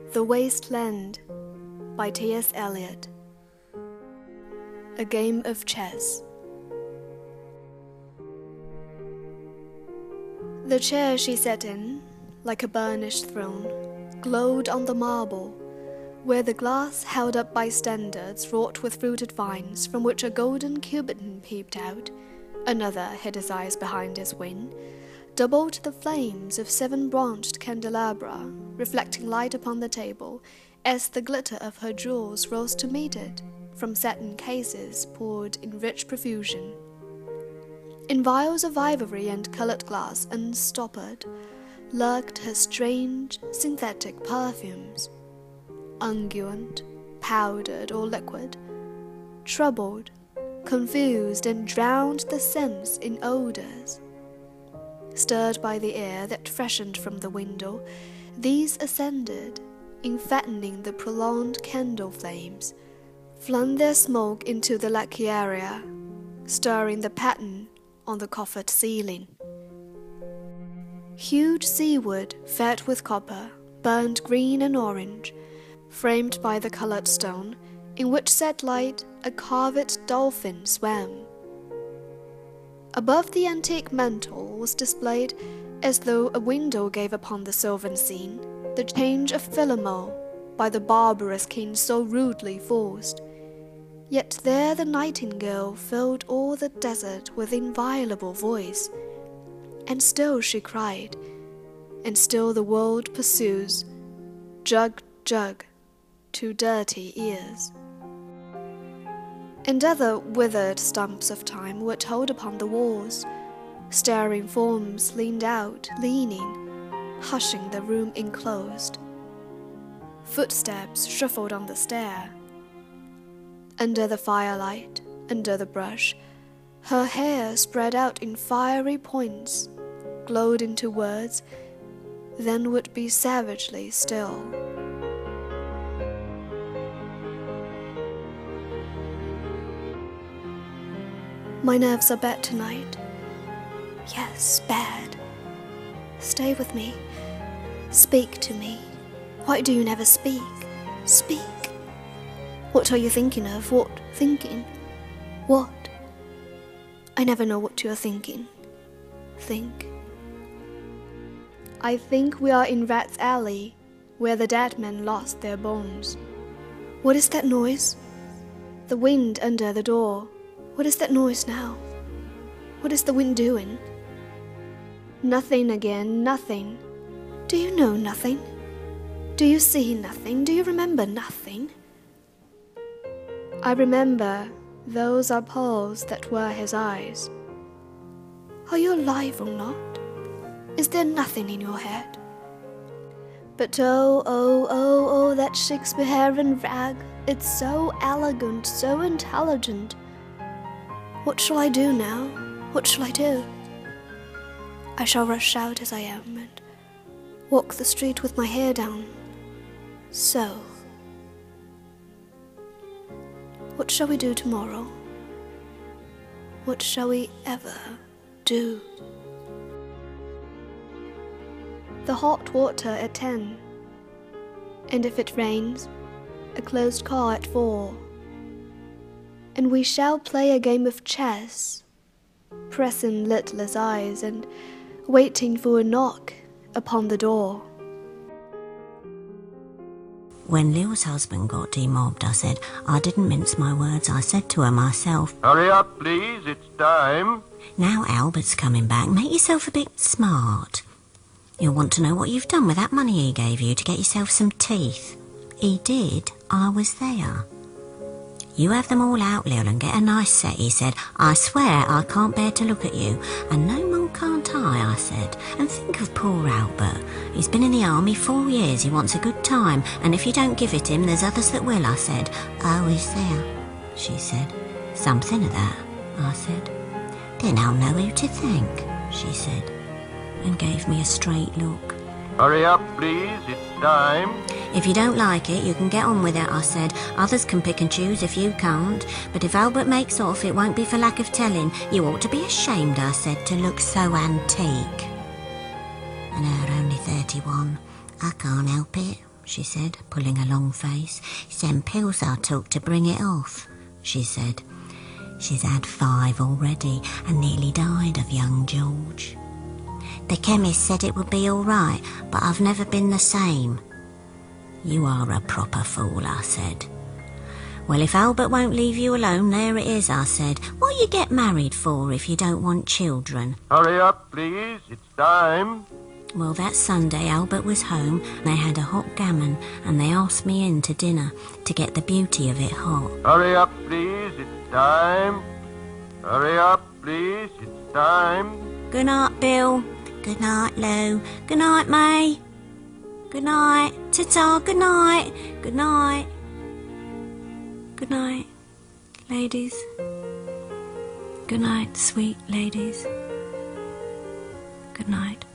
The Waste Land by T.S. Eliot. A game of chess. The chair she sat in, like a burnished throne, glowed on the marble, where the glass held up by standards wrought with fruited vines from which a golden Cubiton peeped out. Another hid his eyes behind his wing, doubled the flames of 7-branched candelabra, reflecting light upon the table as the glitter of her jewels rose to meet it from satin cases poured in rich profusion. In vials of ivory and coloured glass unstoppered lurked her strange synthetic perfumes, unguent, powdered or liquid, troubled, confused and drowned the sense in odours. Stirred by the air that freshened from the window, these ascended, fattening the prolonged candle flames, flung their smoke into the lacquearia, stirring the pattern on the coffered ceiling. Huge seawood, fed with copper, burned green and orange, framed by the coloured stone, in which set light a carved dolphin swam. Above the antique mantel was displayed, as though a window gave upon the sylvan scene, the change of Philomel by the barbarous king so rudely forced. Yet there the nightingale filled all the desert with inviolable voice, and still she cried, and still the world pursues, jug, jug, to dirty ears. And other withered stumps of time were told upon the walls. Staring forms leaned out, leaning, hushing the room enclosed. Footsteps shuffled on the stair. Under the firelight, under the brush, her hair spread out in fiery points, glowed into words, then would be savagely still. My nerves are bad tonight. Yes, bad. Stay with me. Speak to me. Why do you never speak? Speak. What are you thinking of? What thinking? What? I never know what you are thinking. Think. I think we are in Rat's Alley, where the dead men lost their bones. What is that noise? The wind under the door. What is that noise now? What is the wind doing? Nothing again, nothing. Do you know nothing? Do you see nothing? Do you remember nothing? I remember those are pearls that were his eyes. Are you alive or not? Is there nothing in your head? But oh, that Shakespearean rag, it's so elegant, so intelligent. What shall I do now? What shall I do? I shall rush out as I am and walk the street with my hair down. So. What shall we do tomorrow? What shall we ever do? The hot water at 10. And if it rains, a closed car at 4. And we shall play a game of chess, pressing lidless eyes and waiting for a knock upon the door. When Lil's husband got demobbed, I said, I didn't mince my words, I said to her myself, "Hurry up, please, it's time." Now Albert's coming back, make yourself a bit smart. You'll want to know what you've done with that money he gave you to get yourself some teeth. He did, I was there. You have them all out, Lil, and get a nice set, he said. I swear I can't bear to look at you. And no more can't I said. And think of poor Albert. He's been in the army 4 years, he wants a good time, and if you don't give it him, there's others that will, I said. Oh, is there? She said. Something of that, I said. Then I'll know who to thank, she said, and gave me a straight look. Hurry up, please, it's time. If you don't like it, you can get on with it, I said. Others can pick and choose if you can't. But if Albert makes off, it won't be for lack of telling. You ought to be ashamed, I said, to look so antique. And her only 31. I can't help it, she said, pulling a long face. "It's them pills I took to bring it off," she said. She's had 5 already and nearly died of young George. "The chemist said it would be all right, but I've never been the same." "You are a proper fool," I said. "Well, if Albert won't leave you alone, there it is," I said. "What you get married for if you don't want children?" Hurry up, please. It's time. Well, that Sunday Albert was home. They had a hot gammon and they asked me in to dinner to get the beauty of it hot. Hurry up, please. It's time. Hurry up, please. It's time. "Good night, Bill." "Good night, Lou." "Good night, May." "Good night." "Ta-ta, good night." "Good night." "Good night, ladies." "Good night, sweet ladies." "Good night."